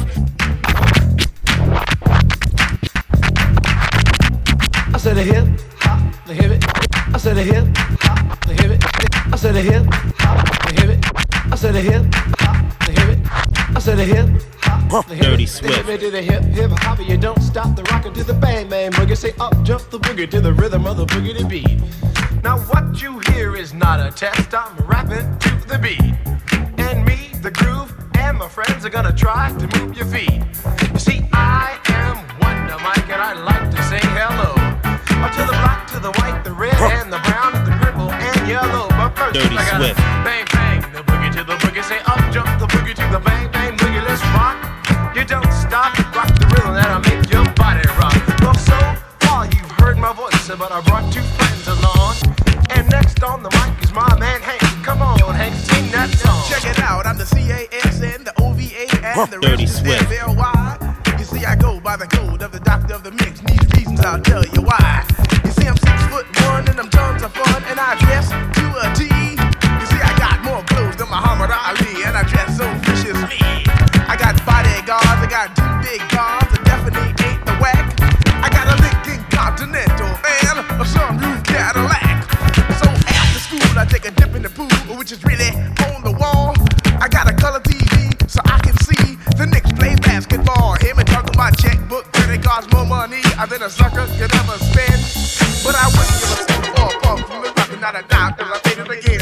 I said a hip hop, the hip it. I said a hip hop, the hip it. I said a hip hop, the hip it. I said a hip hop, the hip it. I said a hip hop, the hip it. Dirty Swift. The hip it to the hip hip hop, you don't stop the rockin' to the bang bang boogie. Say up jump the boogie to the rhythm of the boogie to beat. Now what you hear is not a test. I'm rapping to the beat, and me, the groove, and my friends are gonna try to move your feet. You see, I am Wonder Mike, and I like to say hello to the black, to the white, the red, and the brown, and the purple, and yellow. But first, Dirty I gotta Swift. bang bang the boogie to the boogie. Say up jump the boogie to the bang bang boogie. Let's rock. You don't stop, rock the rhythm that'll make your body rock. Well, so far you've heard my voice, but I brought two friends along. And next on the mic is my man Hank. Come on, Hank, sing that song. Check it out, I'm the CASN, the OVA, and the Dirty rest Swift. is FLY. You see, I go by the code of the doctor of the mix. These reasons I'll tell you why. You see, I'm 6'1" and I'm tons of fun, and I dress to a T. You see, I got more clothes than Muhammad Ali, and I dress so viciously. I got bodyguards, I got two big cars, I definitely ain't the whack. I got a Lincoln Continental and a sunroof Cadillac. So after school, I take a dip in the pool, which is really on the wall. I got a color TV so I can see the Knicks play basketball. Him and talking my checkbook, credit cards, more money than a sucker could ever spend. But I wouldn't give a cent for a pump from the rock, not a dime, till I made it again.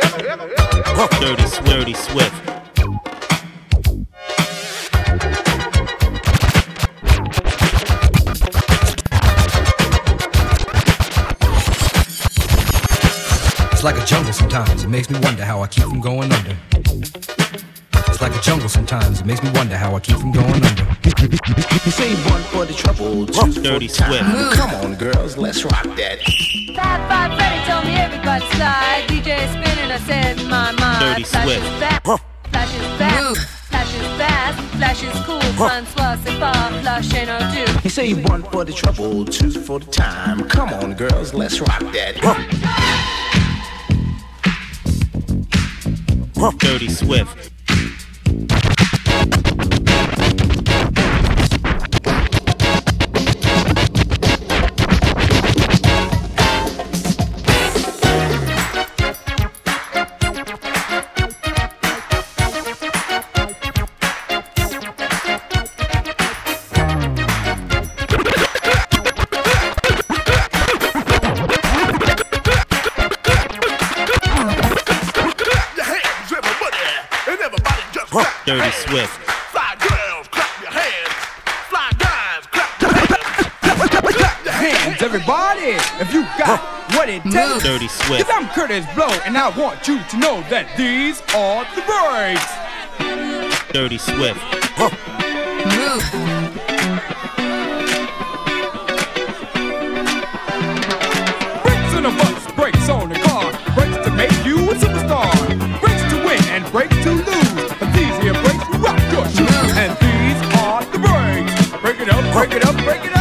Dirty Swift. It's like a jungle sometimes, it makes me wonder how I keep from going under. It's like a jungle sometimes, it makes me wonder how I keep from going under. Say one for the trouble, two for Dirty the time. Swift. Come on, girls, let's rock that. Fab Five Freddy told me everybody slide. DJ spinning, I said in my mind. Dirty Swift. Flash is fast, flash is fast, flash is cool. Francois, c'est pas flash ain't no do. You say one for the trouble, two for the time. Come on, girls, let's rock that. Dirty Swift. Dirty Swift. Fly girls, clap your hands. Fly guys, clap your hands. Clap your hands, everybody, if you got what it takes. Dirty Swift. Cause I'm Curtis Blow, and I want you to know that these are the breaks. Dirty Swift. Brakes on a bus, brakes on a car, brakes to make you a superstar, brakes to win and brakes to lose. But these here brakes rock your shoes, and these are the breaks. Break it up, break it up, break it up.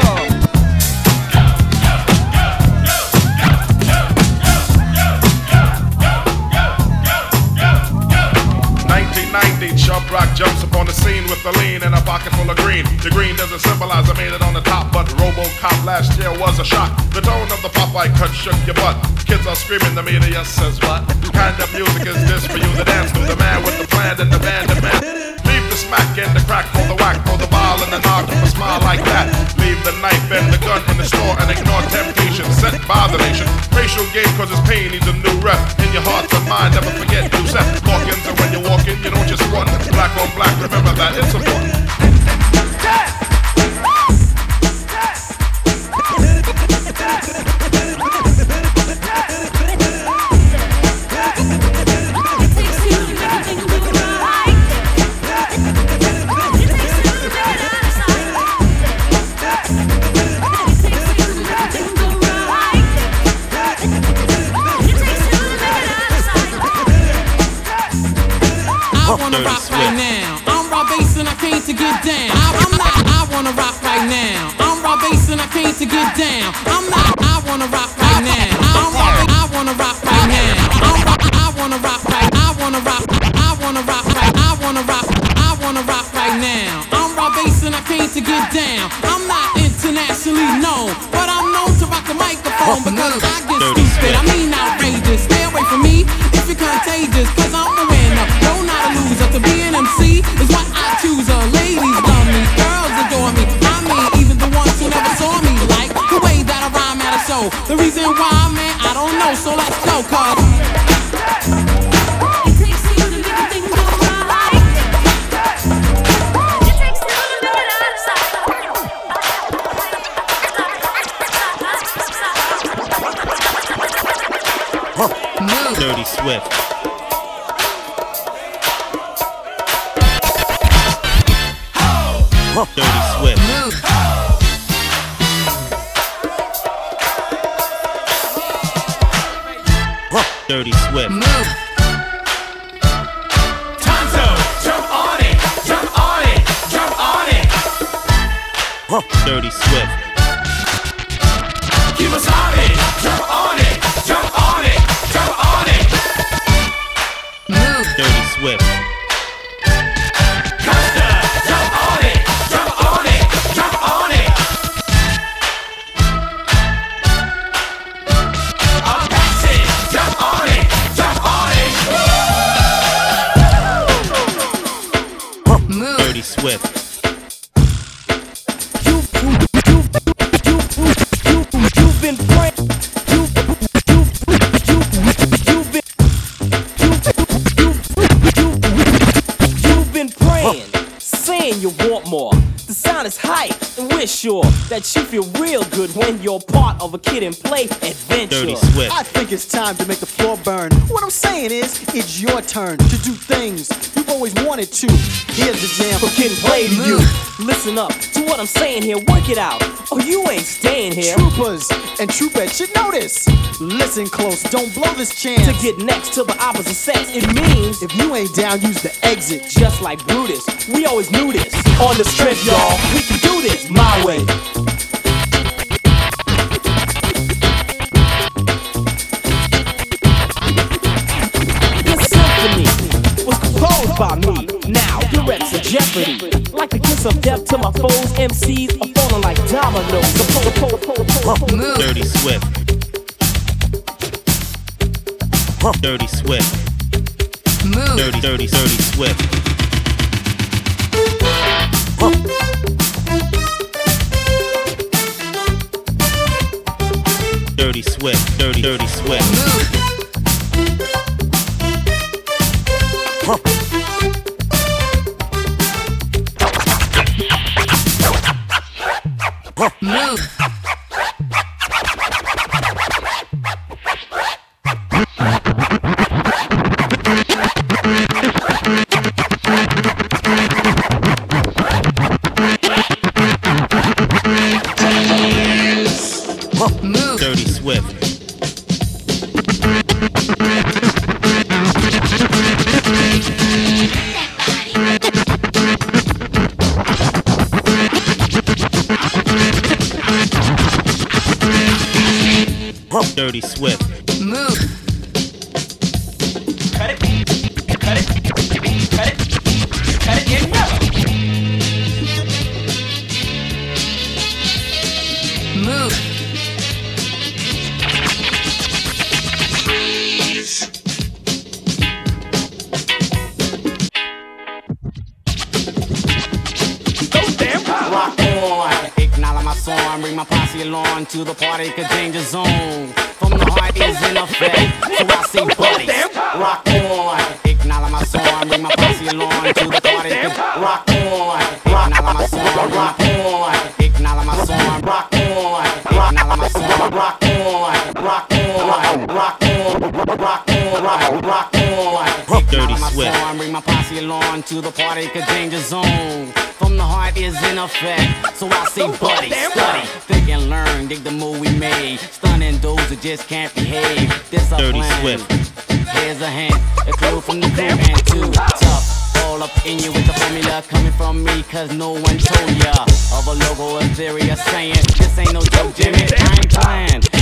1990, Chubb Rock jumps upon the scene with a lean and a pocket full of green. The green doesn't symbolize I made it on the top, but RoboCop last year was a shock. The tone of the Popeye cut shook your butt. Kids are screaming, the media says what? Kind of music is this for you to dance to? The man with the plan and the band demand. Leave the smack and the crack for the whack, for the ball and the knock with a smile like that. Leave the knife and the gun in the store and ignore temptation set by the nation. Racial game causes pain needs a new rep. In your heart and mind, never forget you set Hawkins, and when you're walking, you don't just run. Black on black, remember that, it's important. I wanna rock right now. I'm Rob Bass and I came to get down. I wanna rock right now. I'm Rob Bass and I came to get down. I wanna rock right now. I wanna rock right now. I wanna rock right. I wanna rock. I wanna rock right. I wanna rock right now. get down. I'm not internationally known, but I'm known to rock the microphone because I get stupid. I mean outrageous. Stay away from me if you're contagious, cause I'm a winner, no not a loser. To be an MC is what I choose. Ladies love me, girls adore me. I mean even the ones who never saw me like the way that I rhyme at a show. The reason why, man, I don't know, so let's go, cause Dirty Swift. Dirty Swift. Dirty Swift. Tonto, jump on it, jump on it, jump on it. Dirty Swift. Keep us on it, jump on it, jump on it, jump on it. Dirty Swift. Costa, jump on it, jump on it, jump on it. Apache, jump on it, jump on it. Dirty Swift. You've been praying. You've been praying, saying you want more. The sound is hype, and we're sure that you feel real good when you're part of a Kid and Play adventure. Dirty Swift. I think it's time to make the floor burn. What I'm saying is, it's your turn to do things you've always wanted to. Here's the jam For Kid and Play to you. Listen up to what I'm saying here, work it out, or you ain't staying here. Troopers and troopettes should know this. Listen close, don't blow this chance. To get next to the opposite sex, it means If you ain't down, use the exit. just like Brutus, we always knew this. On the strength, y'all, we can do this my way. This symphony was composed by me. Now your reps in jeopardy. Like the kiss of death to my foes, MCs are falling like dominoes. Dirty Swift. Dirty Swift. Dirty Swift. Dirty Swift. Dirty Swift. Dirty Swift. Dirty Swift. Cut it, cut it, cut it, cut it in yellow. Rock on, acknowledge my song, bring my posse along to the party, cause danger zone from the heart is in effect, so I say buddy, rock on, acknowledge my song, bring my posse along to the party, cause rock on, acknowledge my song, rock on, acknowledge my song, rock on, acknowledge my song, rock on, rock on, rock on, rock on, rock on, Dirty Swift. bring my posse along to the party, cause danger zone from the heart is in effect, so I say buddy, study, think and learn, dig the move we made, stunning those who just can't behave. This a Dirty plan. Swift. Here's a hint, a clue from the crew and too tough. All up in you with the formula coming from me, cause no one told ya of a logo, a theory, a saying. This ain't no joke, Jimmy, I ain't playing. I'm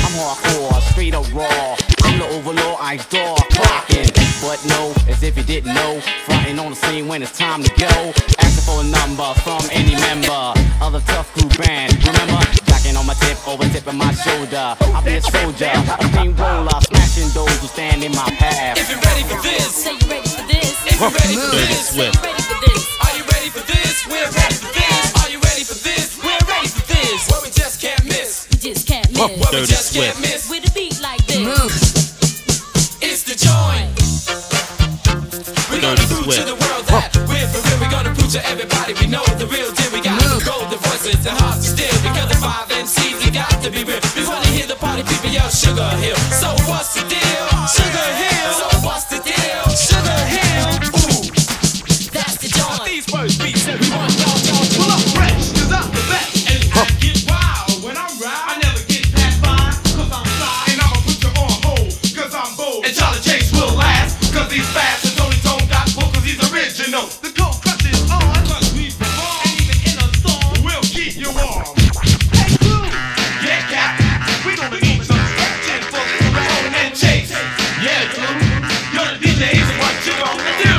I'm hardcore, straight up raw. I'm the overlord, ice door, clocking. But no, as if you didn't know, fronting on the scene when it's time to go. Asking for a number from any member of the Tough Crew band. Remember, jacking on my tip, over tipping my shoulder. I'll be a soldier, a steamroller, smashing those who stand in my path. If you're ready for this, say you're ready for this. If you're ready for Dirty this, Swift. Ready for this. are you ready for this? We're ready for this. Are you ready for this? We're ready for this. Where we just can't miss. We just can't miss. Where we Dirty just can't Swift. miss. With a beat like this. It's the joint. We're gonna Dirty prove to Swift. the world that we're for real. We're gonna prove to everybody we know the real deal. We got golden voices and hearts to steal. Because the 5 MCs, we got to be real. We wanna hear the party people yell Sugar Hill. So what's the deal? Sugar Hill. So what's the deal? Sugar Hill. Ooh, That's the joint. these first beats that we want y'all to pull up fresh. 'Cause I'm the best. And I get wild when I'm ride. I never get past 5, 'cause I'm fly. And I'ma put you on hold, 'cause I'm bold. And Charlie Chase will last, 'cause he's fast. And Tony Tone got book, 'cause he's original. The cold crush is on, 'cause we perform. And even in a storm, we'll keep you warm. Hey, crew! Yeah, Cap. We gonna eat some stretching for Ramon and Chase. Yeah, crew. You're the DJs, and what you gonna do?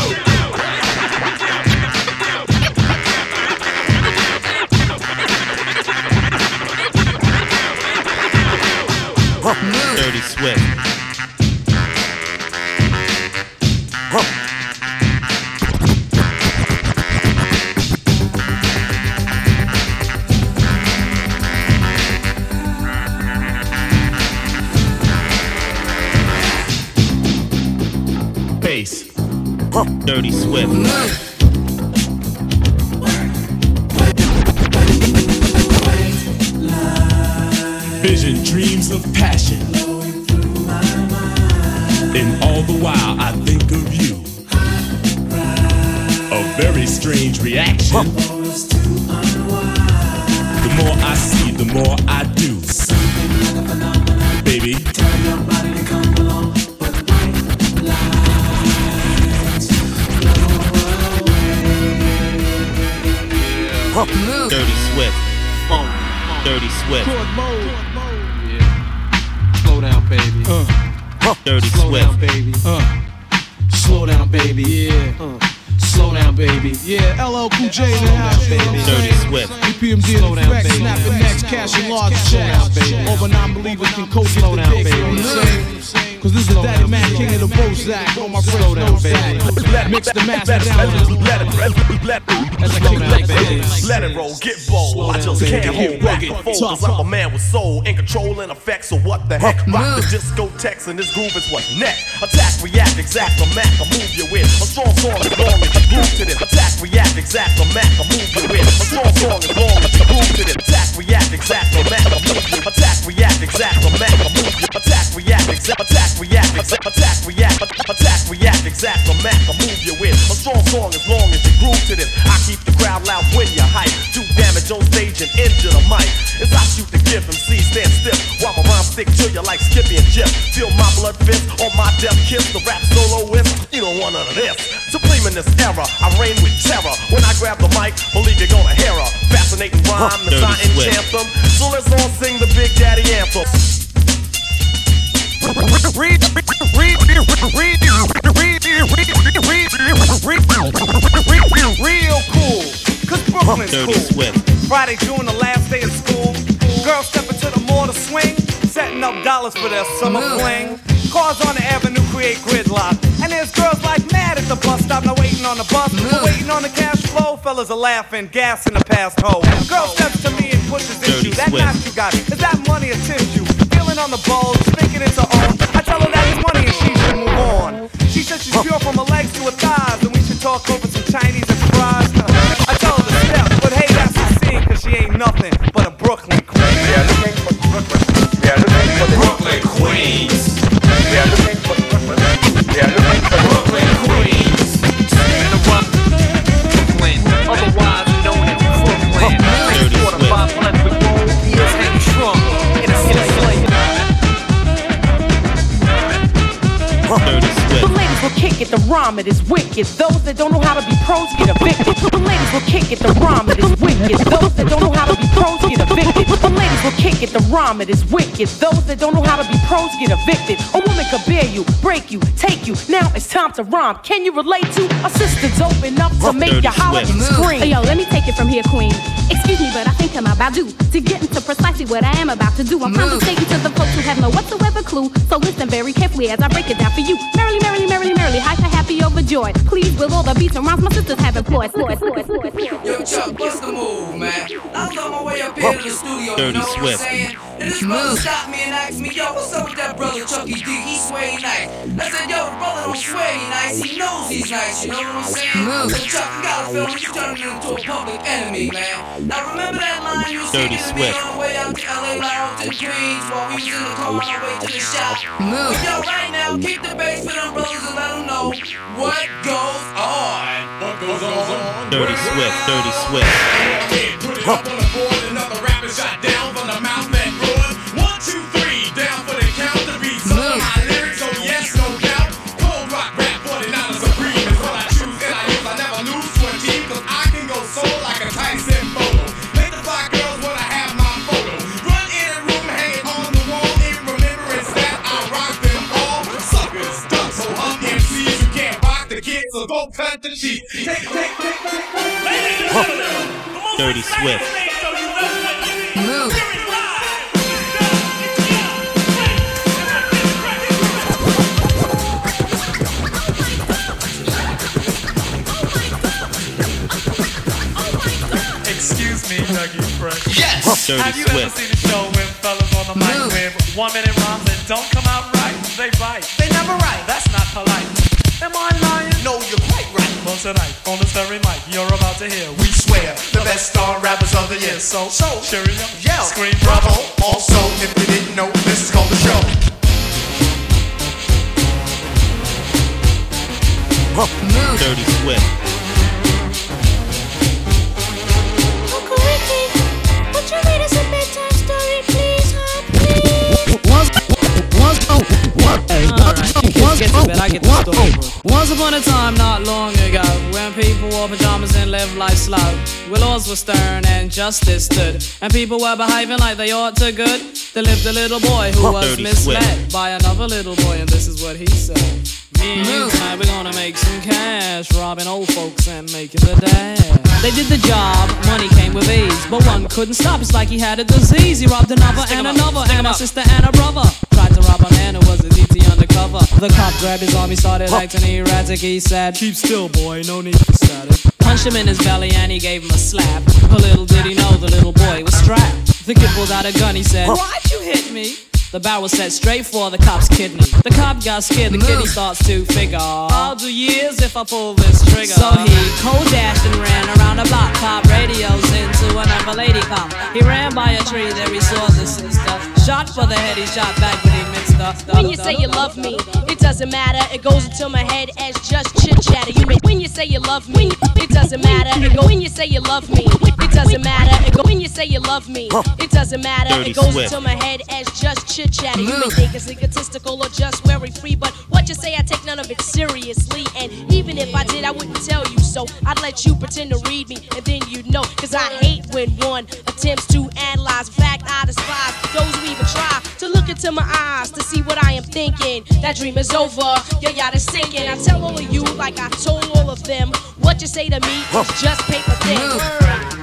Dirty Swift. Bass. Dirty Swift. Vision, dreams of passion. And all the while I think of you. A very strange reaction. The more I see, the more I do. Baby. Dirty Swift. Dirty Swift. Slow down, baby. Dirty Slow Swift. down, baby. Slow down, baby. Yeah. Slow down, baby. Yeah, LL Cool J in the house, baby. Dirty Swift. EPMD in effect, snapping necks, cashing large checks. All but non-believers can coach the dick, you know what I'm saying? Cause this is Daddy Mac, king of the Bozak. All my friends know that. Mix the master down. Let it roll, get bold. I just can't hold back the fold. Cause I'm a man with soul in control and effect. So what the heck? Rock the discotheques and this groove is what's next. Attack, react, exact, the Mac, I move you in. A strong song as long as you groove to this. Attack, react, exact, the Mac, I move you in. A strong song as long as you groove to this. Attack, react, exact, the Mac, I move you. Attack, react, exact, the Mac, I move you. Attack, react, exact, attack, react, exact, the Mac, I move you in. A strong song as long as you groove to this. I keep the crowd loud when you hype. Do damage on stage and injure the mic. As I shoot the gift, MC stand stiff while my rhymes stick to you like Skippy and Jip. Feel my blood fist on my death kiss. The rap soloist, you don't want none of this. Supreme in this era, I reign with terror. When I grab the mic, believe you're gonna hear a fascinating rhyme, as I enchant them. So let's all sing the Big Daddy anthem. Real cool, cause Brooklyn's Dirty cool. Swift. Friday, June, the last day of school. Girls step into the mall to swing, setting up dollars for their summer fling. Cars on the avenue create gridlock, and there's girls like mad at the bus stop, not waiting on the bus, but waiting on the cash flow. Fellas are laughing, gas in the past hole. Girl steps to me and pushes into that Swift. knock you got. Is that money or tissue? Feeling on the bulge, thinking it's her own. I tell her that it's money and she should move on. She said she's pure from her legs to her thighs, and we should talk over some Chinese and fries. I tell her to step, but hey, that's a scene, cause she ain't nothing but a Brooklyn queen. We are looking for Brooklyn. We are looking for Brooklyn queens. We are looking for Brooklyn. We are looking for Brooklyn queens. The Brooklyn, otherwise known as Brooklyn. 3/4 500 with gold ears hanging strong in a slave. Dirty Swift. The ladies will kick it, the rhyme it is wicked. Those that don't know how to be pros get evicted. The ladies will kick it, the rhyme it is wicked. Those that don't know how to be pros get evicted. The ladies will kick it, the rhyme rhyme, it is wicked. Those that don't know how to be pros get evicted. A woman could bear you, break you, take you. Now it's time to rhyme. Can you relate to a sister dope enough to make you holler and scream? Yo, let me take it from here, queen. Excuse me, but I think I'm about due to get into precisely what I am about to do. I'm conversating to the folks who have no whatsoever clue. So listen very carefully as I break it down for you. Merrily, merrily, merrily, merrily, hyper, happy, overjoyed. Please, with all the beats and rhymes my sisters have employed. Yo, Chuck, what's the move, man? I was on my way up here to the studio, you know what I'm saying? And this brother stopped me and asked me, yo, what's up with that brother Chucky D? He sway nice. I said, yo, the brother don't sway nice. He knows he's nice, you know what I'm saying? So Chuck, you gotta feel me, you turning into a public enemy, man. Now remember that line you was singing to me on the way out to LA Lounge in Queens while we was in the car on our way to the shop? But yo, right now, keep the bass for them brothers and let them know what goes on. What goes on? Dirty Swift, Dirty Swift. Put it up on the board, another rapper shot down from the mouth that roared. 1, 2, 3, down for the count. The beats on my lyrics, so yes, no doubt. Cold rock rap, 49ers supreme is what I choose and I use. I never lose to a team, cause I can go soul like a Tyson photo. Make the fly girls wanna have my photo. Run in a room, hang it on the wall in remembrance that I rock them all. Suckers, ducks, so MCs, you can't rock the kids, so go cut the sheets. Dirty Swift. Move. Excuse me, Dougie Fresh. Yes! Dirty Have you Swift. ever seen a show when fellas on the mic with 1 minute rhymes that don't come out right? They bite. They never write. That's not polite. Am I lying? No, you're quite right. Well, tonight, on this very mic, you're about to hear, we swear, the best star rappers of the year. So, cheerio, yell, scream, bravo. Also, if you didn't know, this is called the show. Dirty Swift. Uncle Ricky, would you read us a bedtime story, please, huh? Once upon a time, not long ago, when people wore pajamas and lived life slow, where laws were stern and justice stood, and people were behaving like they ought to good, there lived a little boy who was misled by another little boy, and this is what he said. Me and you tonight, we're gonna make some cash, robbing old folks and making the dash. They did the job, money came with ease, but one couldn't stop, it's like he had a disease. He robbed another and another, and a sister and a brother. Tried to rob a man who was a DT undercover. The cop grabbed his arm, he started acting erratic. He said, keep still, boy, no need for static. Punched him in his belly and he gave him a slap. But little did he know the little boy was strapped. The kid pulled out a gun, he said, why'd you hit me? The barrel was set straight for the cop's kidney. The cop got scared, the kid he starts to figure, I'll do years if I pull this trigger. So he cold dashed and ran around the block, pop radios into another lady cop. He ran by a tree, there he saw the sister. Shot for the head, he shot back, but he missed her. When you say you love me, it doesn't matter. It goes into my head as just chit chatter. You make when you say you love me, it doesn't matter. It go when you say you love me, it doesn't matter. It go when you say you love me, it doesn't matter. It goes into my head as just chit chatter. You may think it's egotistical or just very free, but what you say, I take none of it seriously. And even if I did, I wouldn't tell you so. I'd let you pretend to read me, and then you'd know. Cause I hate when one attempts to analyze. In fact, I despise those who even try to look into my eyes to see what I am thinking. That dream is over, your yacht is sinking. I tell all of you, like I told all of them, what you say to me is just paper thin.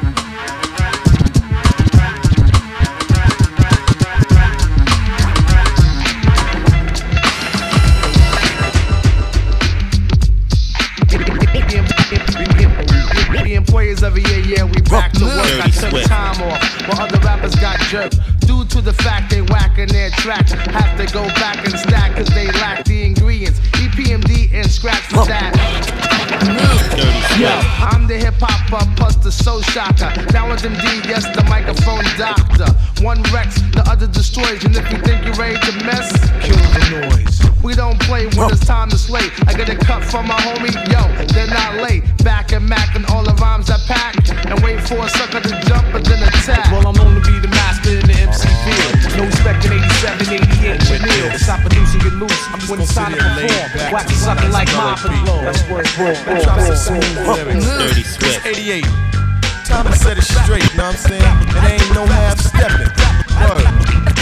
The employers every year, yeah, we back to work. I took time off while other rappers got jerked. Due to the fact they whacking their tracks, have to go back and stack cause they lack the ingredients. EPMD and scratch for that. Yo, I'm the hip-hopper plus the soul shocker. Now with MD, yes, the microphone doctor. One wrecks, the other destroys. And if you think you're ready to mess, kill the noise. We don't play when it's time to slay. I get a cut from my homie, yo, they're not late. Back and Mac and all the rhymes I pack. And wait for a sucker to jump and then attack. Well, I'm known to be the master in the MC field. No respect in 87, 88, Chanel. Stop producing, get loose when it's time to perform. Wax sucking like mop and blow. That's word, Drop some smooth lyrics. Dirty Swift. 88. Time to set it straight, know what I'm saying? It ain't no half stepping. Word.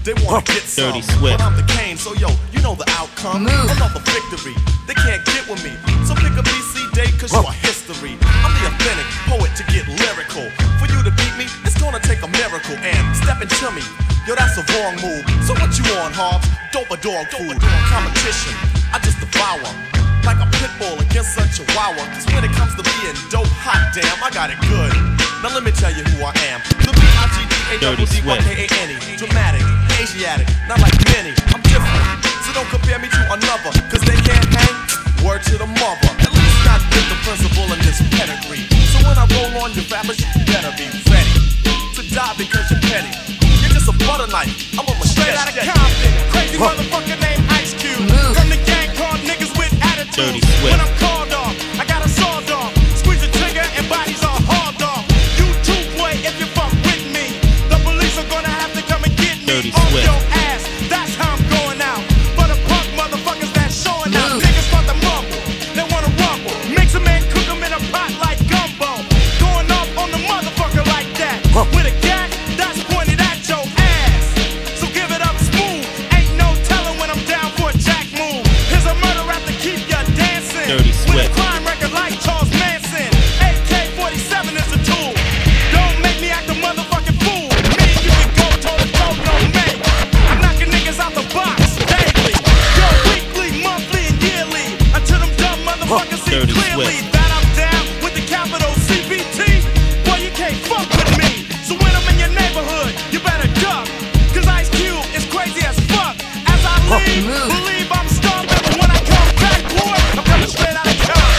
They wanna get some, Dirty Swift. but I'm the Kane, so yo, you know the outcome. Another victory, they can't get with me. So pick a BC day, cause you're history. I'm the authentic poet to get lyrical. For you to beat me, it's gonna take a miracle. And step into me, yo, that's a wrong move. So what you on, Hobbs? Dope or dog food? Competition, I just devour. Like a pit bull against a chihuahua. Cause when it comes to being dope, hot damn, I got it good. Now let me tell you who I am. The B-I-G-D-A-D-D-Y-K-A-N-E. Dramatic, Asiatic, not like many. I'm different, so don't compare me to another. Cause they can't hang, word to the mother. At least not with the principle in this pedigree. So when I roll on your rappers, you better be ready to die because you're petty. You're just a butter knife, I'm a machete. Straight out of Compton, crazy motherfucker named Ice Cube. From the gang called niggas with attitude. When I'm called off, I got a sawed off. Squeeze the trigger and bodies are hauled off. You too, boy, if you fuck with me. The police are gonna have to come and get me off your ass. That's how I'm going out. For the punk motherfuckers that's showing out. Niggas want to mumble, they wanna rumble. Mix them and cook them in a pot like gumbo. Going off on the motherfucker like that. With a gat that's pointed at your ass. So give it up smooth. Ain't no telling when I'm down for a jack move. Here's a murder rap to keep ya dancing. With a crime record like Charles Manson. AK-47 is a tool. Don't make me act a motherfucking fool. Me and you can go toe to toe, no me. I'm knocking niggas out the box daily. Yo, weekly, monthly, and yearly. Until them dumb motherfuckers see clearly that I'm down with the capital CBT. Boy, you can't fuck with me. So when I'm in your neighborhood, you better duck. Cause Ice Cube is crazy as fuck. As I leave, believe I'm stomping. But when I come back, boy, I'm coming straight out of Compton.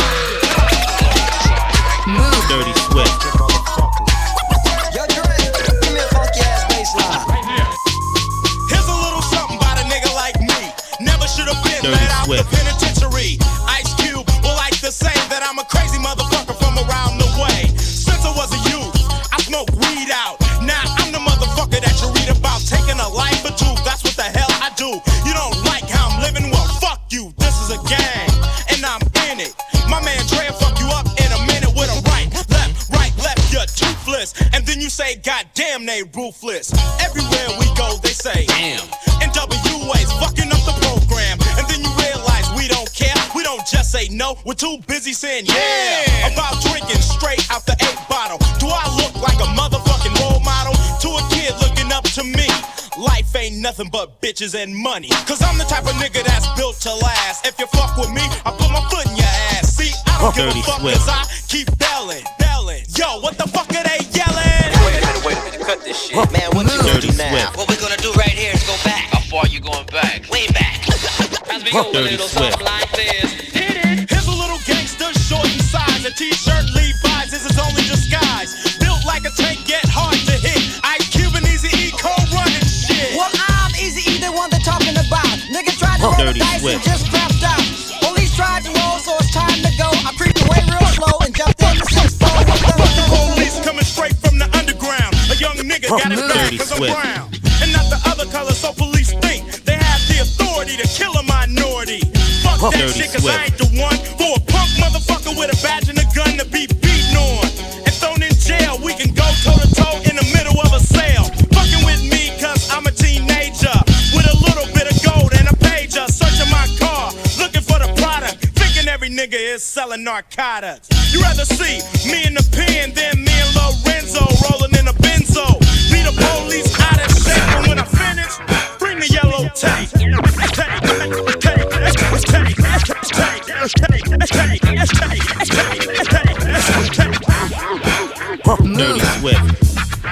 Dirty Swift. Yo, Dre, give me a funky ass bass line. Right here. Here's a little something about a nigga like me. Never should have been Dirty let out the Swift. penitentiary. Ice Cube will like to say that I'm a crazy motherfucker from around the way. Since I was a youth, I smoked weed out. Now I'm the motherfucker that you read about. Taking a life or two, that's what the hell I do. You don't like how I'm living? Well, fuck you. This is a gang, and I'm in it. My man Dre will fuck you up in a minute with a right, left, you're toothless. And then you say, God damn, they ruthless. Everywhere we go, they say, damn. NWA's fucking up the program. And then you realize we don't care. We don't just say no, we're too busy saying yeah. About drinking straight out the 8 bottle. Do I look like a motherfucking role model to a kid looking up to me? Life ain't nothing but bitches and money. Cause I'm the type of nigga that's built to last. If you fuck with me, I put my foot in your ass. See, I don't give a fuck cause I keep belling. Yo, what the fuck are they yelling? Wait a minute, cut this shit. Man, what you gonna do now? What we're gonna do right here is go back. How far you going back? Way back. As we go a little something like this. Here's a little gangster, short in size. A t-shirt, Levi's is his only disguise. Built like a tank, get hard to hit. Ice Cube and Eazy-E co-running shit. Well, I'm Eazy-E, the one they're talking about. Nigga tried to roll the dice and just crapped out. Police tried to roll, so it's time to go. I creeped away real slow and jumped in the 6-4. Police coming straight from the underground. A young nigga got it bad cause I'm brown. And not the other color, so police think they have the authority to kill a minority. Fuck that shit cause I ain't the one for a punk motherfucker with a badge and a gun to be beaten on. And thrown in jail, we can go toe to toe in the middle of a sale. Fucking with me cause I'm a teenager with a little bit of gold and a pager. Searching my car, looking for the product. Thinking every nigga is selling narcotics. You rather see me in the pen than me and Lorenzo rolling in a benzo. Be the police out of shape, but when I finish, bring the yellow tape. Dirty Swift.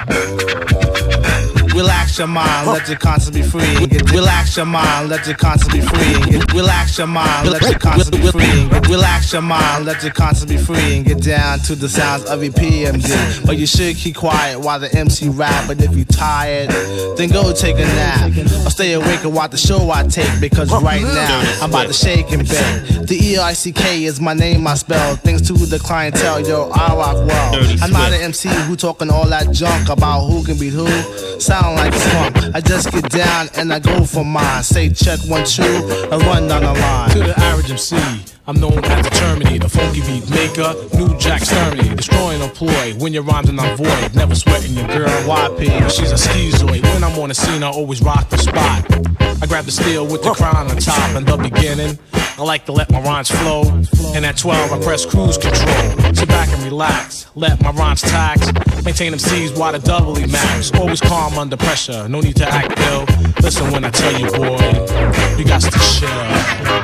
Relax your mind, let your conscience be free. Relax your mind, let your conscience be free. Relax your mind, let your conscience be free. Relax your mind, let your conscience be free. And get down to the sounds of your PMD. But you should keep quiet while the MC rap. But if you're tired, then go take a nap. Or stay awake and watch the show I take. Because right now, I'm about to shake and bake. The E-I-C-K is my name, I spell. Thanks to the clientele, yo, I rock well. I'm not an MC who talking all that junk about who can beat who. Sound like crunk. I just get down and I go for mine. Say check 1, 2, I run down the line. To the average MC, I'm known as the Terminator, the funky beat maker, New Jack Exterminator, destroying a ploy. When your rhymes are not void, never sweating your girl YP. She's a schizoid. When I'm on the scene, I always rock the spot. I grab the steel with the crown on top. In the beginning, I like to let my rhymes flow. And at 12, I press cruise control. Sit back and relax, let my rhymes tax. Maintain them C's while the doubly max. Always calm under pressure, no need to act ill. Listen when I tell you, boy, you got to chill.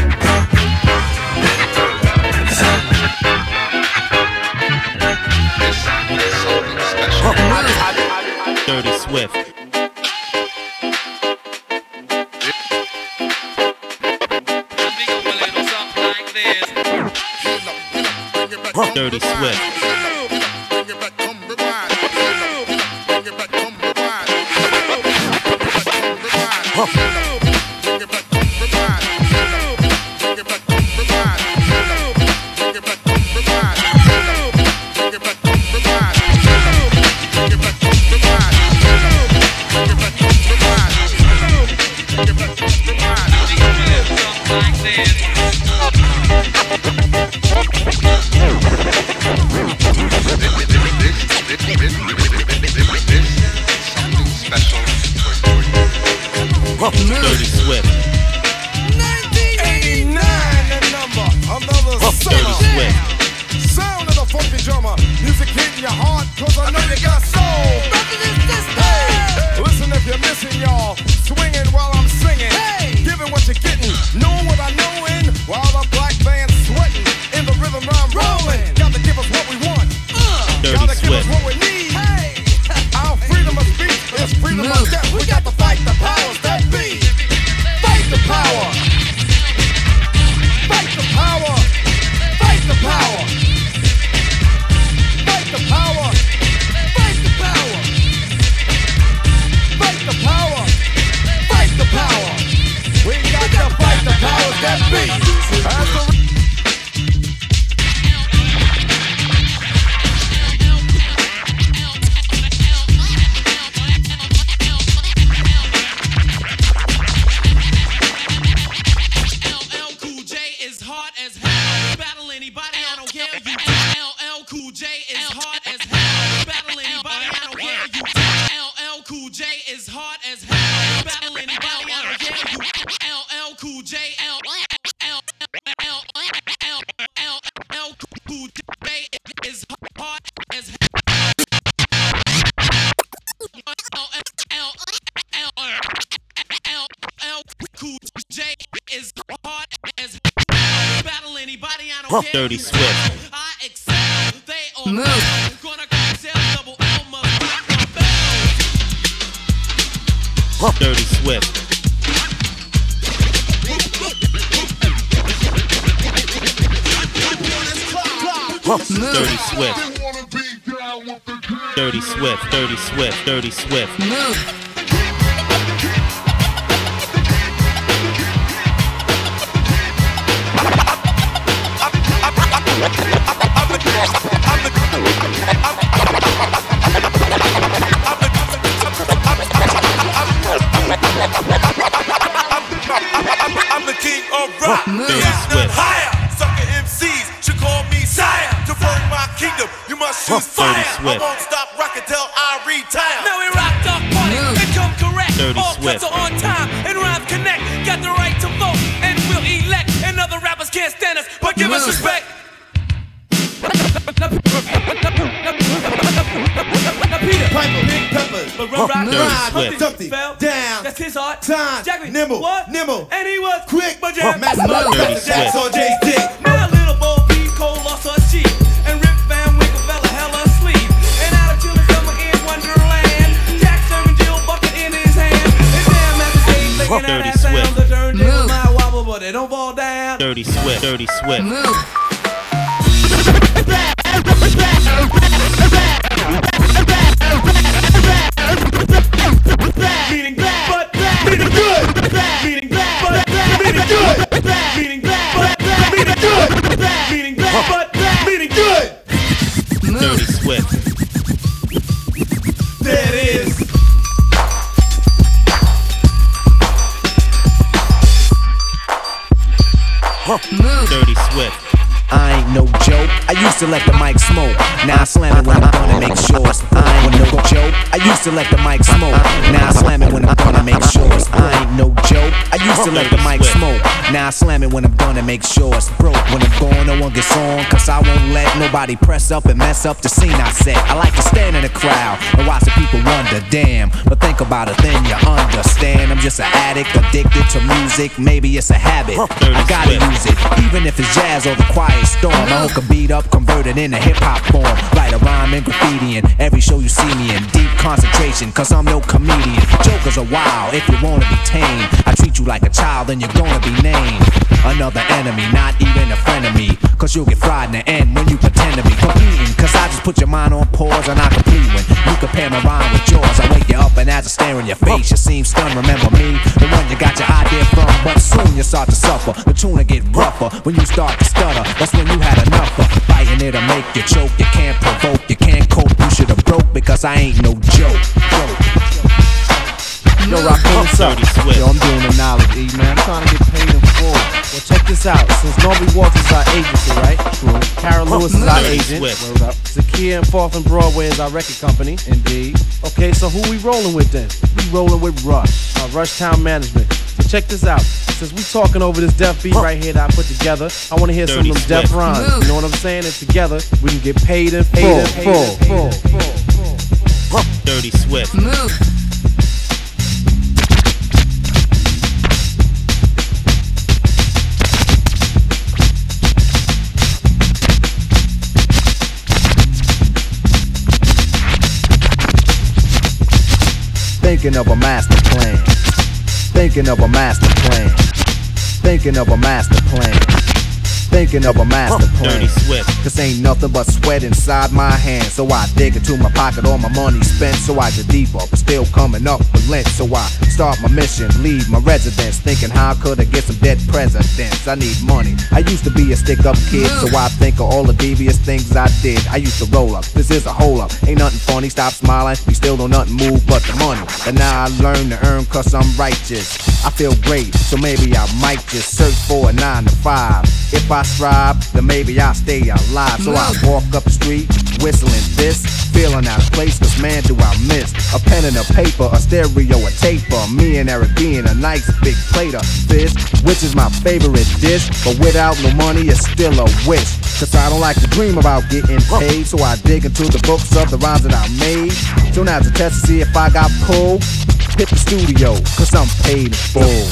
Dirty Swift. Dirty Swift. Dirty Swift. 1989, the number. Another Dirty Swift. sound of the funky drummer. Music hitting your heart, cause I know you got soul. Hey, listen if you're missing, y'all. Swinging while I'm singing. Hey, giving what you're getting. Knowing what I knowin'. While the black band's sweating. In the rhythm I'm rolling. Gotta give us what we want. Gotta give us what we need. Hey, our freedom of speech is freedom of death. We got to fight the powers that be. Fight the power. Fight the power. Fight the power. Fight the power. Fight the power. Fight the power. Fight the power. We got to fight the powers that be. As the Dirty Swift. Move. Dirty Swift. Dirty Swift. Dirty Swift. Dirty Swift. Dirty Swift. Move. I'm the king of rock. Dirty Swift. Higher. Sucker MCs should call me sire. To burn my kingdom, you must choose fire. I won't stop rocking till I retire. Now we rocked our party and come correct. Dirty All Swift. cuts are on time and rhymes connect. Got the right to vote and we'll elect. And other rappers can't stand us, but give us respect. Piper, big peppers, but run, Swift. Dumpty, down, That's his art. time, Jackie, nimble, what? nimble, And he was quick, but jam. master, Dirty Jack's Swift. on Jay's dick. Now little Bo Peep, Cole lost her cheek. And Rip Van Winkle fell a hella asleep. And out of chillin' summer in Wonderland. Jack serving Jill bucket in his hand. And damn at the stage making out Dirty that sound. Swift. The turntable might wobble, but they don't fall down. Dirty Swift. Dirty Swift. Move. Meaning but meaning good. Meaning but meaning good. Meaning but meaning good. Meaning but meaning good. Dirty Swift. There it is. Dirty Swift. I ain't no joke. I used to let the mic smoke. Now I slam it when I'm gonna make sure. I ain't no joke. I used to let the mic smoke. Now I slam it when I'm gonna make sure. I ain't no joke. I used to let the mic smoke. Now I slam it when I'm gonna make sure it's broke. When I'm gone, no one gets on. Cause I won't let nobody press up and mess up the scene I set. I like to stand in the crowd and watch the people wonder, damn. But think about it, then you understand. I'm just an addict, addicted to music. Maybe it's a habit. I gotta use it, even if it's jazz or the quiet storm. I hook a beat up, convert it into hip-hop form. Write a rhyme and graffiti in every show you see me in. Deep concentration, cause I'm no comedian. Jokers are wild if you wanna be tame. I treat you like a child, then you're gonna be named another enemy, not even a friend of me. Cause you'll get fried in the end when you pretend to be competing. Cause I just put your mind on pause and I complete when you compare my rhyme with yours. I wake you up and as I stare in your face, you seem stunned. Remember me, the one you got your idea from. But soon you start to suffer, the tune will get rougher. When you start to stutter, that's when you had enough of fighting it'll make you choke. You can't provoke, you can't cope. You should've broke because I ain't no joke. Yo, Rakim, what's up? Yo, I'm doing the knowledge, E, man. I'm trying to get paid in full. Well, check this out. Since Norby Waltz is our agency, right? True. Carol Lewis is our agent. Word up. Zakia and 4th and Broadway is our record company. Indeed. Okay, so who we rolling with then? We rolling with Rush, our Rush Town Management. So check this out. Since we talking over this deaf beat right here that I put together, I want to hear some of them deaf rhymes. You know what I'm saying? And together, we can get paid in full. Dirty Swift. Move. Thinking of a master plan. Thinking of a master plan. Thinking of a master plan. Thinking of a master plan. Dirty Swift. Cause ain't nothing but sweat inside my hands. So I dig into my pocket, all my money spent. So I get deeper, but still coming up with lint. So I start my mission, leave my residence. Thinking how could I get some dead presidents? I need money. I used to be a stick-up kid, so I think of all the devious things I did. I used to roll up, this is a hole up. Ain't nothing funny, stop smiling. We still don't nothing move but the money. And now I learn to earn cause I'm righteous. I feel great, so maybe I might just search for a 9 to 5. If I strive, then maybe I'll stay alive. So I walk up the street, whistling this, feeling out of place, cause man do I miss a pen and a paper, a stereo, a taper. Me and Eric being a nice big plate of fish, which is my favorite dish. But without no money, it's still a wish. Cause I don't like to dream about getting paid, so I dig into the books of the rhymes that I made. So now's a test to see if I got pulled. Hit the studio, cause I'm paid in full.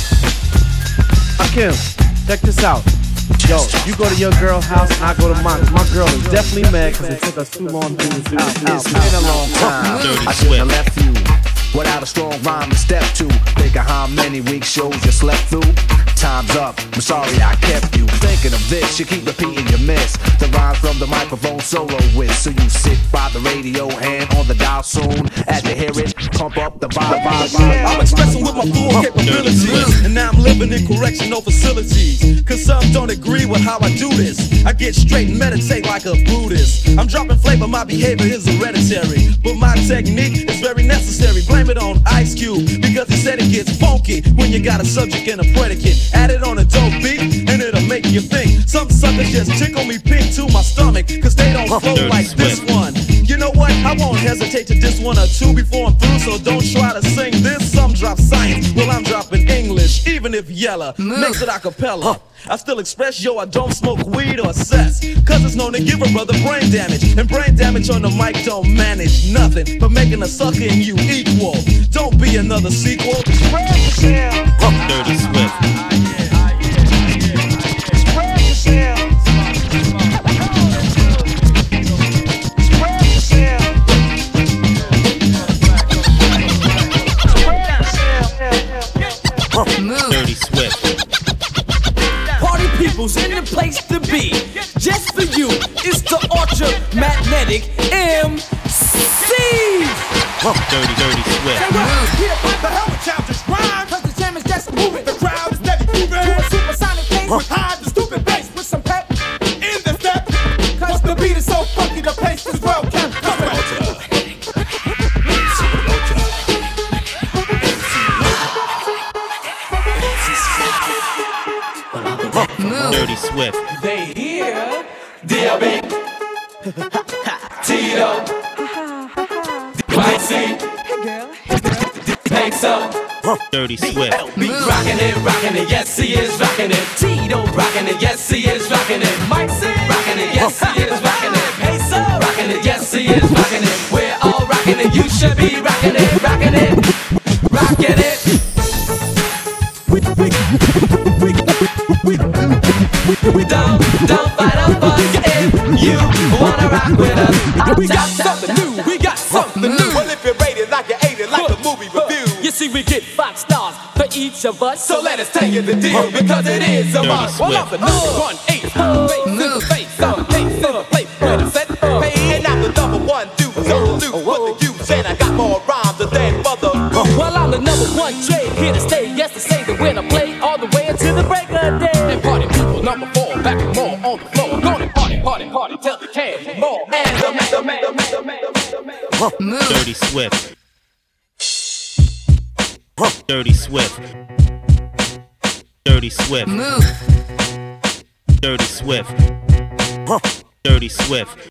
Rakim, check this out. Yo, you go to your girl's house and I go to mine. My girl is definitely mad because it took us too long to do this. It's been a long time. I shouldn't have left you without a strong rhyme to step to. Think of how many week shows you slept through. Time's up, I'm sorry I kept you thinking of this. You keep repeating your miss the rhymes from the microphone solo with. So you sit by the radio, hand on the dial soon. As you hear it, pump up the vibe. I'm expressing with my full capabilities, and now I'm living in correctional facilities. Cause some don't agree with how I do this. I get straight and meditate like a Buddhist. I'm dropping flavor, my behavior is hereditary, but my technique is very necessary. Blame it on Ice Cube, because he said it gets funky when you got a subject and a predicate. Add it on a dope beat, and it'll make you think. Some suckers just tickle me pink to my stomach, cause they don't flow like this one. You know what? I won't hesitate to diss one or two before I'm through, so don't try to sing this. Some drop science, well I'm dropping English, even if Yella makes it a cappella. I still express, yo, I don't smoke weed or cess, cause it's known to give a brother brain damage. And brain damage on the mic don't manage nothing but making a sucker and you equal. Don't be another sequel. Dirty Swift. Dirty Swift. Party people's in the place to be. Just for you, it's the Ultra Magnetic MC. Dirty Swift. The hell with childish rhyme, cause the jam is just moving. The crowd is steady moving to a supersonic pace with high the stupid bass with some pep in the step. Cause the beat is so funky, the pace is well kept. Dirty Swift. They Hey, here, D.O.B. Tito, White C, Make some Dirty Swift. Be rockin' it, yes he is rockin' it. Tito rockin' it, yes he is rockin' it. Mike C rockin' it, yes he is rockin' it. Peso rockin' it, yes he is rockin' it. We're all rockin' it, you should be rockin' it, rockin' it, rockin' it. We don't fight up for you if you wanna rock with us. We got something new, we got something new. Well, if you rate it like you ate it, like the movie review. You see, we get 5 stars for each of us. So let us tell you the deal, because it is a must. Well, I'm the number 1 ace, face to the face, I'm a face to the place where the set pay. And I'm the number 1 dude, so loose with the youth. And I got more rhymes than mother. Well, I'm the number 1 trade, here to stay. Yes, to say that when I play all the way until the break of day. And party people, number 4, back and more on the floor. Gonna party, till the can more. And the Dirty Swift. Dirty Swift. Dirty Swift. Dirty Swift. Dirty Swift.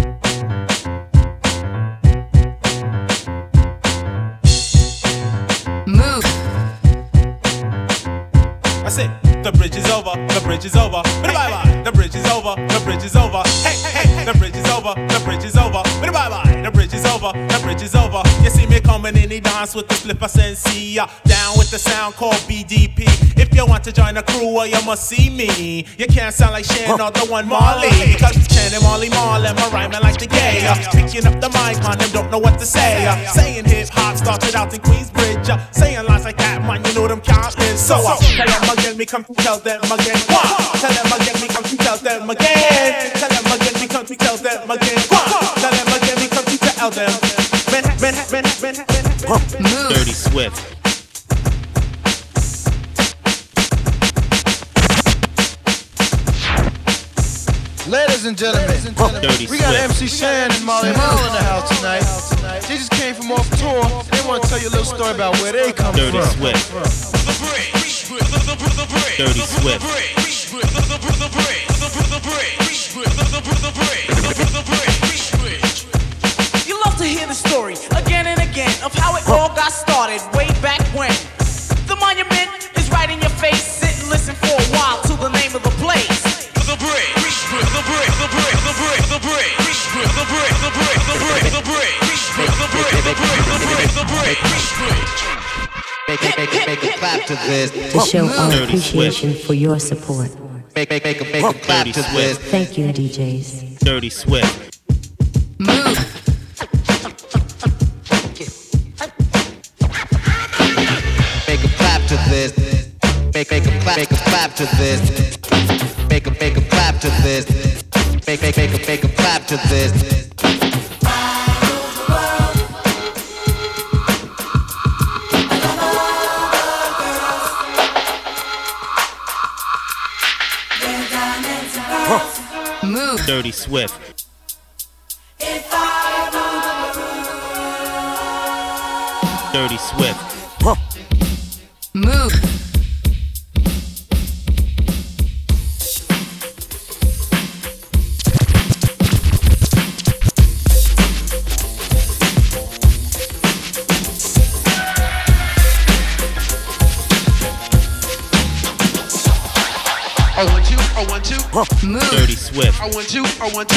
I say, the bridge is over, the bridge is over. Bye-bye, the bridge is over, the bridge is over. Hey, hey, the bridge is over, the bridge is over. Bye-bye, the bridge is over, the bridge is over. You see me coming in the dance with the flipper sensei. Down with the sound called BDP. If you want to join the crew, well, you must see me. You can't sound like Shan or the one Marley. Cause Shan and Marley Marley, my rhyming like the gay. Picking up the mic, man, them don't know what to say. Saying hip-hop started out in Queensbridge. Saying lines like that, man, you know them countless. So tell them again, me come to tell them again. Tell them again, me come to tell them again. Tell them again, me come to tell them again. Tell them again, me come to tell them. Dirty Swift. Ladies and gentlemen, we got MC Shan and Molly Hall in the house tonight. They just came from off tour. They want to tell you a little story about where they come Dirty from. Swift. Dirty Swift. You love to hear the story again and again of how it all got started way back when. The monument is right in your face. Sit and listen for a while to the name of the place. The bridge. Make a clap to this. To show our appreciation for your support. Make a clap to this. Thank you, DJs. Dirty Swift. Make a clap to this. Make a clap to this. Make a clap to this. Make a clap to this. Dirty Swift. Dirty Swift. Move. I want to. Move. Dirty Swift. I want to.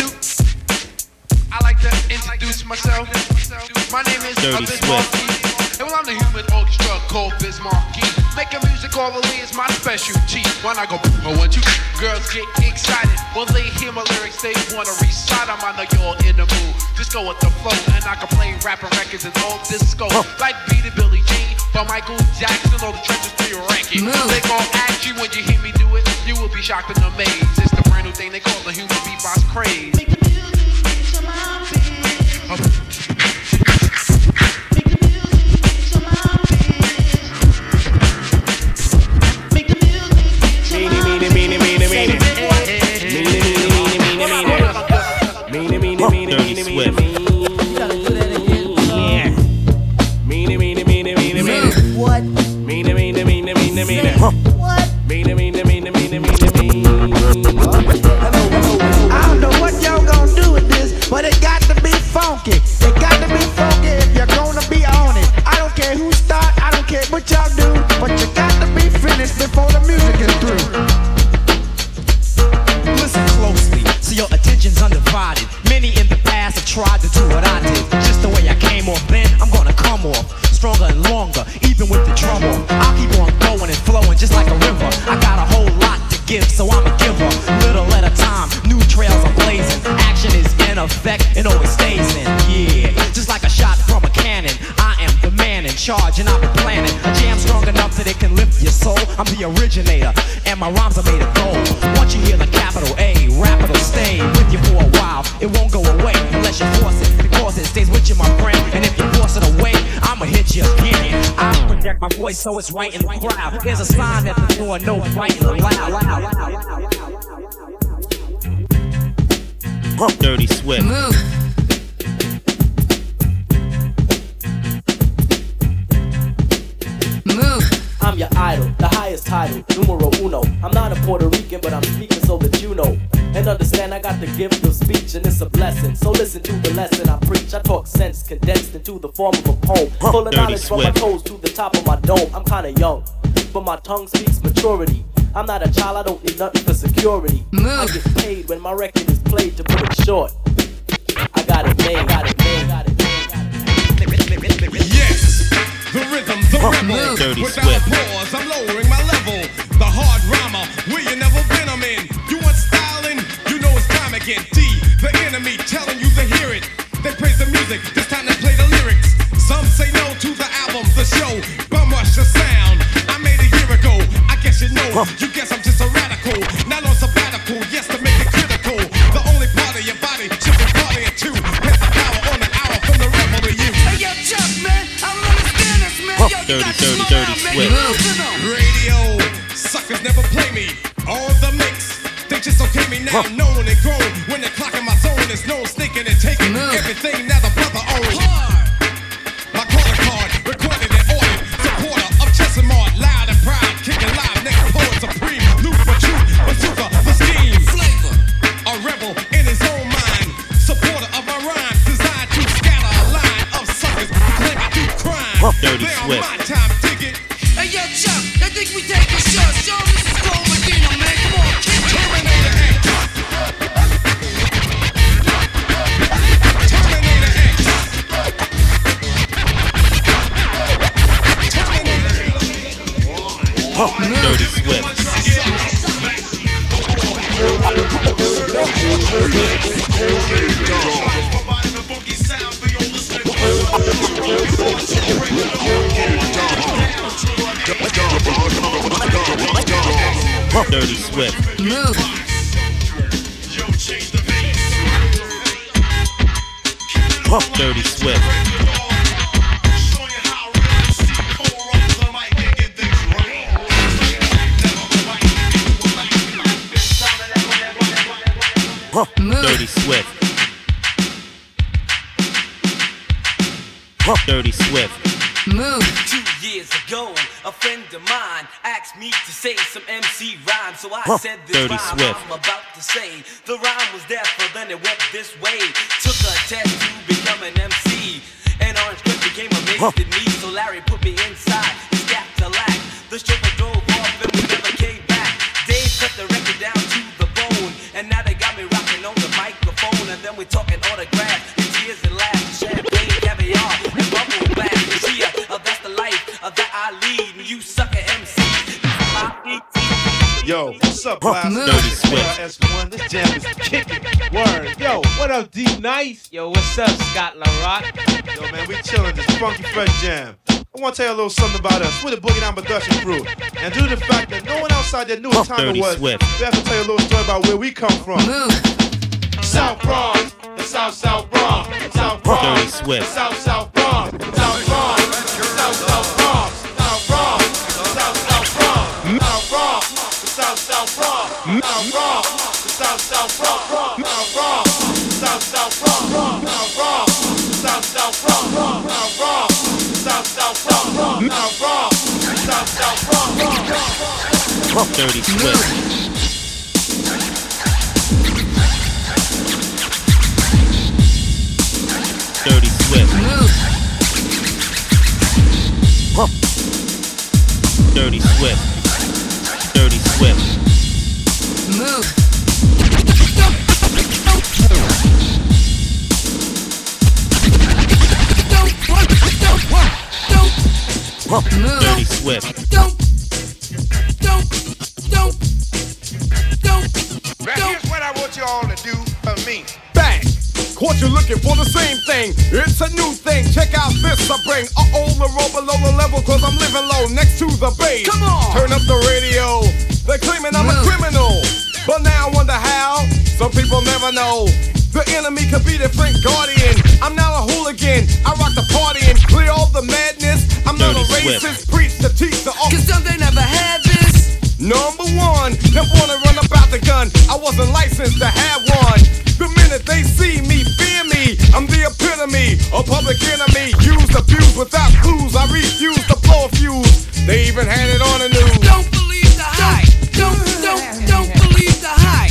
I like to introduce myself. My name is Dirty Bismarck. And well, I'm the human orchestra called Bismarck. Making music orally is my specialty. When I go, I want to. Girls get excited when they hear my lyrics. They wanna recite them. I know you're in the mood. Just go with the flow, and I can play rapping records and all disco. Like Beat It, Billie Jean, by Michael Jackson, all the trenches to your ranking. They gon' ask you when you hear me do it. You will be shocked and amazed. It's the brand new thing they call the human beatbox craze. Make the music reach to my feet. Make the music reach to my feet. Make the music reach to my feet. Dirty Swift. What? What? tried it. Many in the past have tried to do what I did. Just the way I came off then, I'm gonna come off stronger and longer, even with the drum off. I'll keep on going and flowing just like a river. I got a whole lot to give, so I'm a giver. Little at a time, new trails are blazing. Action is in effect and always stays in. Yeah, just like a shot from a cannon. I am the man in charge and I've been planning a jam strong enough that it can lift your soul. I'm the originator and my rhymes are made of gold. Once you hear the capital A, rap it'll stay with you for a while. It won't go away unless you force it, because it stays with you, my friend. And if you force it away, I'ma hit you again. I project my voice so it's right in the crowd. Here's a sign that the door no fighting allowed. Dirty Swift. Move. I'm your idol, the highest title, numero uno. I'm not a Puerto Rican, but I'm speaking so that you know. And understand I got the gift of speech and it's a blessing. So listen to the lesson I preach. I talk sense condensed into the form of a poem. Full of knowledge from my toes to the top of my dome. I'm kinda young, but my tongue speaks maturity. I'm not a child, I don't need nothing for security. I get paid when my record is played, to put it short. I got it made, got it made, got it made. Yes, the rhythm, the rebel. Dirty Without Swift. pause, I'm lowering my level. The hard rhymer, where you never been, I'm in. You want styling? You know it's time again. D, the enemy, telling you to hear it. They praise the music, this time they play the lyrics. Some say no to the album, the show. Bum rush the sound, I made a year ago. I guess you know, you guess I'm just a radical. Not on sabbatical, yes, to make it critical. The only part of your body should be party at two. Hit the power on an hour from the rebel to you. Hey, yo, Chuck, man, I don't understand this, man. Yo, you got to slow down, man. Radio, suckers never play me. All the mix, they just okay me now. Known and grown, when they're clocking my zone, there's no sneaking and taking everything now the brother owns. My calling card, recorded and ordered. Supporter of Chesimard, loud and proud, kicking live, next poet supreme. Loop for truth, bazooka for scheme. Flavor, a rebel in his own mind. Supporter of my rhymes, designed to scatter a line of suckers claiming to crime. Dirty They on Swift. my time, dig it. Hey, yo, Chuck, I think we take a shot. Show this is Cole Medina, man. Come on, kick it. Terminator X. Dirty Swift. Dirty Swift. Move. Dirty Swift. Dirty Swift. Dirty Swift. Move. 2 years ago, a friend of mine asked me to say some MC rhyme, so I said this Dirty rhyme Swift. I'm about to say. The rhyme was there, but then it went this way. Took a test to become an MC, and Orange Cliff became amazed at me. So Larry put me inside his Cadillac. The chauffeur drove off and we never came back. Dave cut the record down to the bone, and now they got me rocking on the microphone. And then we're talking autographs, and tears and laughs, champagne, caviar, and bubble bath. Yeah, that's the life that I lead, and you sucker MCs. Yo, what's up, class? Dirty Swift. S1, this jam is kicking. Word. Yo, what up, D Nice? Yo, what's up, Scott LaRock? Yo, man, we chillin' this funky fresh jam. I want to tell you a little something about us. We're the Boogie Down Production crew. And due to the fact that no one outside there knew what time Dirty it was, Swift. we have to tell you a little story about where we come from. South Bronx, the South Bronx, South Bronx, Dirty Swift. South Bronx, South Bronx, South Bronx, South Bronx, South Bronx, South Bronx, South Bronx, South Bronx, South Bronx, South Bronx, South Bronx, South Bronx, South Bronx, South Bronx, South Bronx, South Bronx. Dirty Swift. Dirty Swift. Dirty Swift. Dirty Swift. Move. Dirty Swift. Don't. Now here's what I want you all to do for me. Bang! Caught you looking for the same thing. It's a new thing. Check out this I bring. The roll below the level, cause I'm living low next to the base. Come on! Turn up the radio. They're claiming I'm a criminal. But now I wonder how. Some people never know. The enemy could be the Frank Guardian. I'm not a hooligan. I rock the party and clear all the madness. I'm not a racist. Preach to teach the all. Cause some they never had this. Number one, they wanna run about the gun. I wasn't licensed to have one. The minute they see me, fear me. I'm the epitome, a public enemy. Used, abused without clues. I refuse to blow a fuse. They even had it on the news. Don't believe the hype. Don't believe the hype.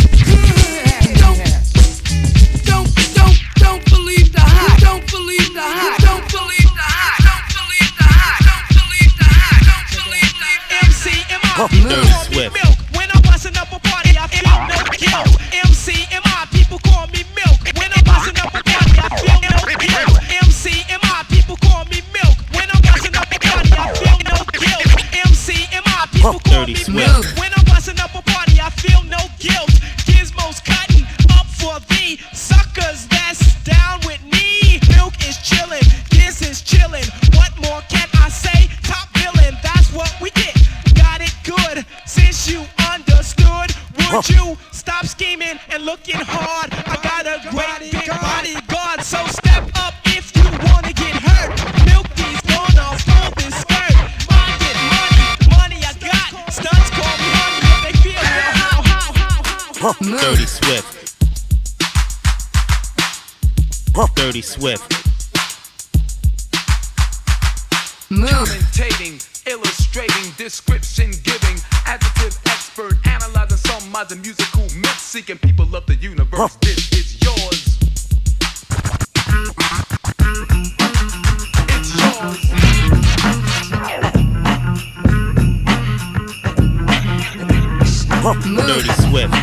Don't believe the hype. Don't believe the hype. Don't believe the hype. Don't believe the hype. Don't believe the hype. Don't believe the hype. Dirty Swift. When I'm busting up a party, I feel no guilt. MCMI, people call me Milk. When I'm busting up a party, I feel no guilt. MCMI, people call me Milk. When I'm busting up a party, I feel no guilt. MCMI, people call me Milk. When I'm busting up a party, I feel no guilt. Gizmo's cutting up for the suckers that's down with me. Milk is chillin', Giz is chillin'. What more can I say? Top villain, that's what we get. Got it good, since you understood. Would you stop scheming and looking hard? I got a great big bodyguard, so step up if you wanna get hurt. Milky's gonna fold this skirt. I get money I got. Stunts call me honey if they feel real. How. Dirty Swift. Dirty Swift. Commentating, illustrating, description giving, adjective expert, analyzing some modern musical myths, seeking people of the universe. This is yours. It's yours. Dirty Swift.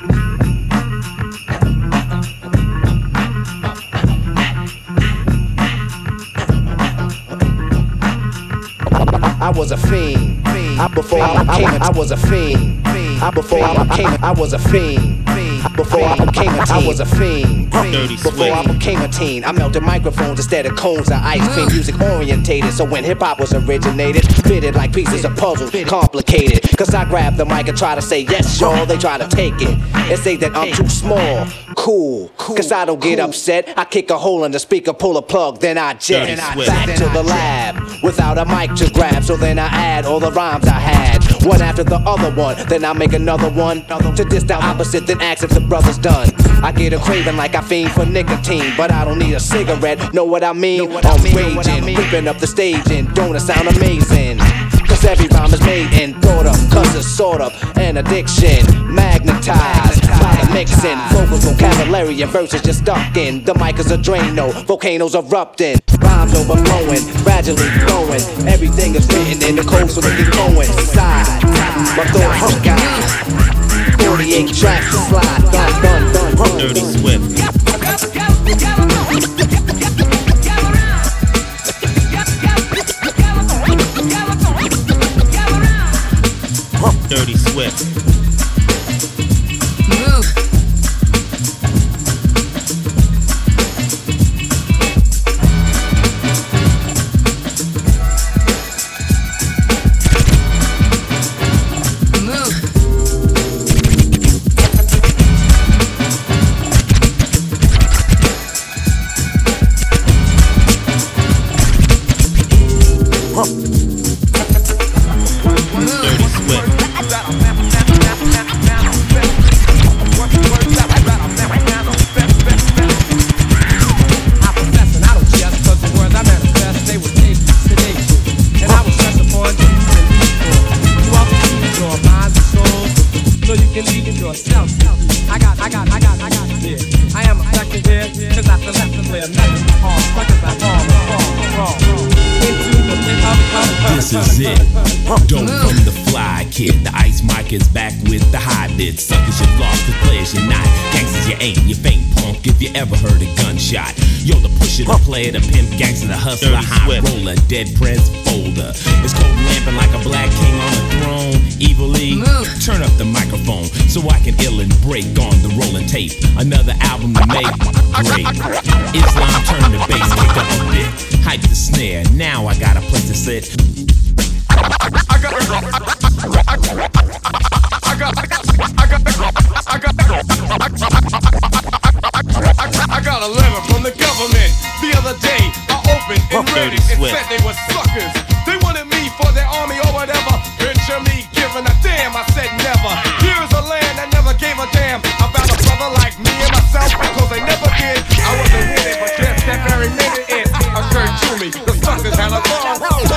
I was a fiend. Before I became I was a fiend. Before I became I was a fiend. Before I became a teen, I was a fiend. Before I became a teen, I melted microphones instead of cones of ice cream. Music orientated, so when hip hop was originated, fitted like pieces of puzzles, complicated. Cause I grab the mic and try to say yes, y'all. They try to take it and say that I'm too small. Cool, cause I don't get upset. I kick a hole in the speaker, pull a plug, then I jet back to the lab without a mic to grab. So then I add all the rhymes I had, one after the other one. Then I make another one to diss the opposite, then ask if the brother's done. I get a craving like I fiend for nicotine, but I don't need a cigarette. Know what I mean? I'm raging, ripping up the stage, and don't it sound amazing? Cause every rhyme is made and thought of, cause it's sort of an addiction. Magnetized by the mixing, vocals, vocabulary, and verses just stuck in. The mic is a Drano, volcanoes erupting, rhymes overflowing, gradually growing. Everything is written in the code so they can coincide. My thoughts are God. 48 tracks to slide, done. Dirty Swift. Dirty Swift. This is it. Dope from the fly kid. The ice mic is back with the high lid. Suckers you lost, the players you're not. Gangsters you ain't, you faint, punk funk if you ever heard a gunshot. Yo, the pusher, the player, the pimp, gangster, the hustler, high roller, dead prez folder. It's cold lamping like a black king on a throne. Evil E, turn up the microphone so I can ill and break on the rolling tape. Another album to make, great. Islam turn the bass, kick up a bit. Hype the snare, now I got a place to sit. I got a letter from the government the other day. I opened and read it. It said they were suckers. They wanted me for their army or whatever. Picture me giving a damn. I said never. Here's a land that never gave a damn about a brother like me and myself, because they never did. I wasn't with it, but just that very minute it occurred to me. The suckers had a gone.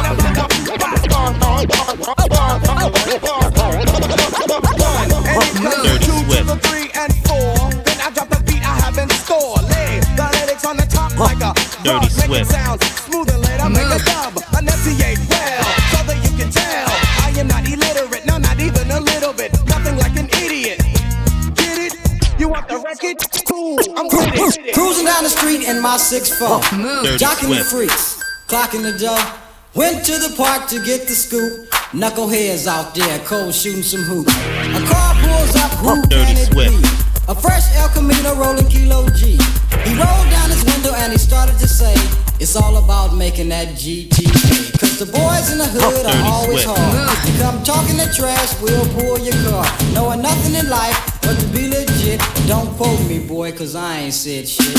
Dirty Swift. 2 to the 3 and 4. Then I drop the beat I have in store. Lay the lyrics on the top like a Dirty Swift. Sound smooth and later make a dub. Enunciate well, so that you can tell I am not illiterate, no, not even a little bit. Nothing like an idiot. Get it? You want the record? Cool, I'm with it. Cruising down the street in my 6'4", jocking the freaks, clocking the dough. Went to the park to get the scoop. Knuckleheads out there, cold shooting some hoops. A car pulls up, who can it be? A fresh El Camino rolling Kilo G. He rolled down his window and he started to say, it's all about making that GTA. Cause the boys in the hood are always hard. You come talking that trash, we'll pull your car. Knowing nothing in life but to be legit. Don't quote me, boy, cause I ain't said shit.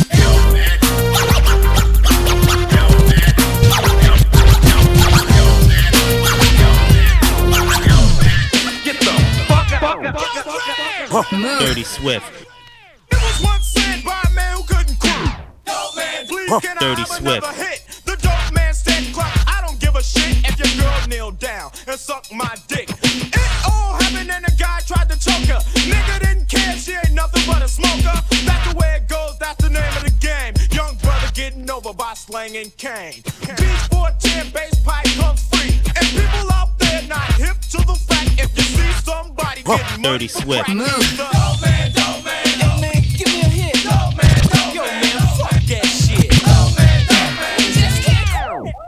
Dirty Swift. It was once said by a man who couldn't quit. Dope man, please can Dirty I have Swift. another hit? The dope man said, "Cluck, I don't give a shit if your girl kneel down and suck my dick." It all happened and the guy tried to choke her. Nigga didn't care, she ain't nothing but a smoker. That's the way it goes, that's the name of the game. Young brother getting over by slanging cane. Beach 410 bass pipe comes free. And people out there not hip to the fact, if you see somebody getting money Dirty for Swift. crack, the